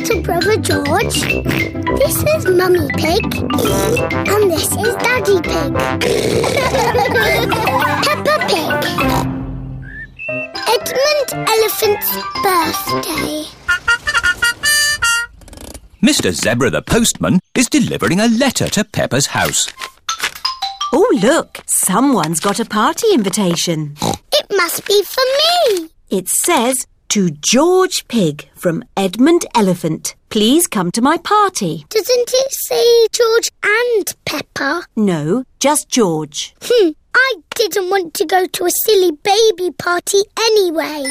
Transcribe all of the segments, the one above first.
little brother George. This is Mummy Pig. And this is Daddy Pig. Peppa Pig. Edmund Elephant's birthday. Mr. Zebra the postman is delivering a letter to Peppa's house. Oh, look, someone's got a party invitation. It must be for me. It says, to George Pig from Edmund Elephant. Please come to my party. Doesn't it say George and Peppa? No, just George. I didn't want to go to a silly baby party anyway.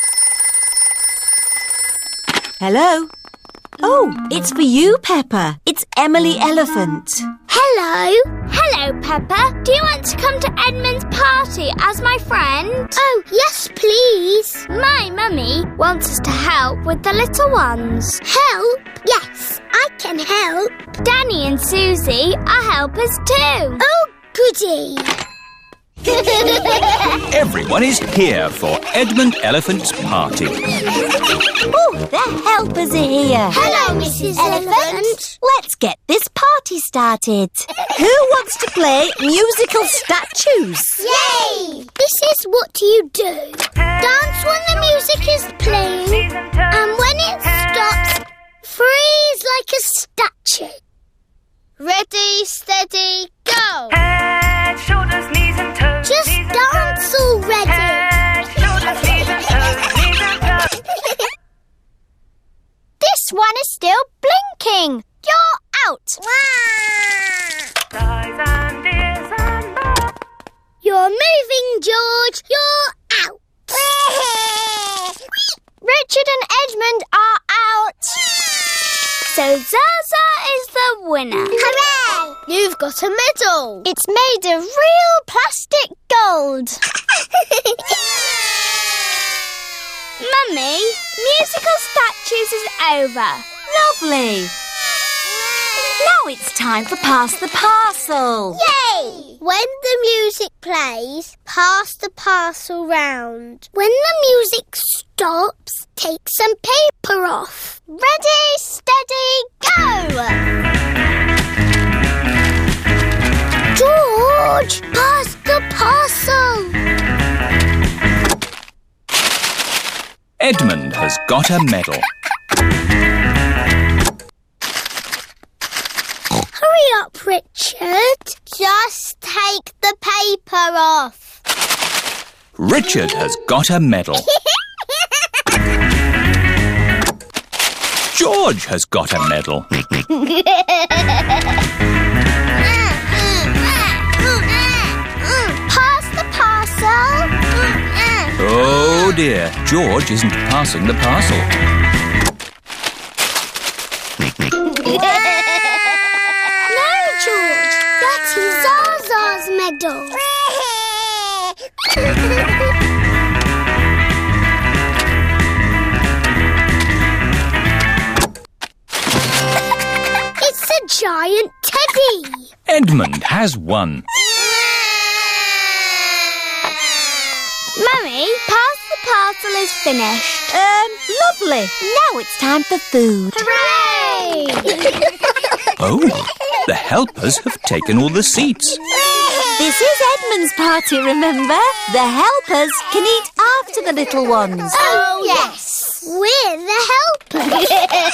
Hello? Oh, it's for you, Peppa. It's Emily Elephant. Hello. Hello, Peppa. Do you want to come to Edmund's party as my friend? Oh, yes, please. My mummy wants us to help with the little ones. Help? Yes, I can help. Danny and Susie are helpers too. Oh, goody. Everyone is here for Edmund Elephant's party. Oh, the helpers are here. Hello, Mrs. Elephant. Let's get this party started. Who wants to play musical statues? Yay! This is what you do. Dance when the music is playing, and when it stops, freeze like a statue. Ready, steady, go! Head, shoulders, knees and toes. Just dance already. Head, shoulders, knees and toes. Knees and toes. This one is still blinking. You're out. Eyes and ears and mouth. You're moving, George. You're out. Richard and Edmund are out. So Zaza is the winner. Hooray! You've got a medal. It's made of real plastic gold. Mummy, musical statues is over. Lovely. Now it's time for Pass the Parcel. Yay! When the music plays, pass the parcel round. When the music stops, take some paper off. Ready, steady, go! George, pass the parcel. Edmund has got a medal. Hurry up, Richard. Just take the paper off. Richard has got a medal. George has got a medal. Pass the parcel. Oh dear, George isn't passing the parcel. No, George. That's Zaza's medal. It's a giant teddy. Edmund has won. Mummy, pass the parcel is finished. Lovely. Now it's time for food. Hooray! Oh, the helpers have taken all the seats. This is Edmund's party, remember? The helpers can eat after the little ones. Oh, yes. We're the helpers.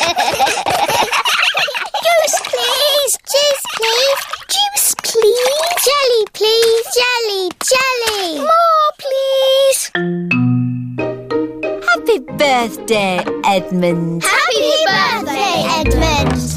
Juice, please. Juice, please. Juice, please. Jelly, please. Jelly, jelly. More, please. Happy birthday, Edmund. Happy birthday, Edmund.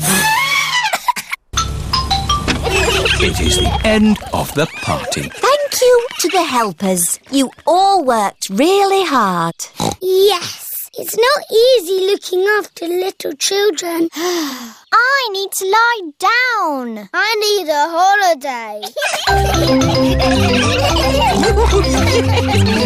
It is the end of the party. Thank you to the helpers. You all worked really hard. Yes. It's not easy looking after little children. I need to lie down. I need a holiday.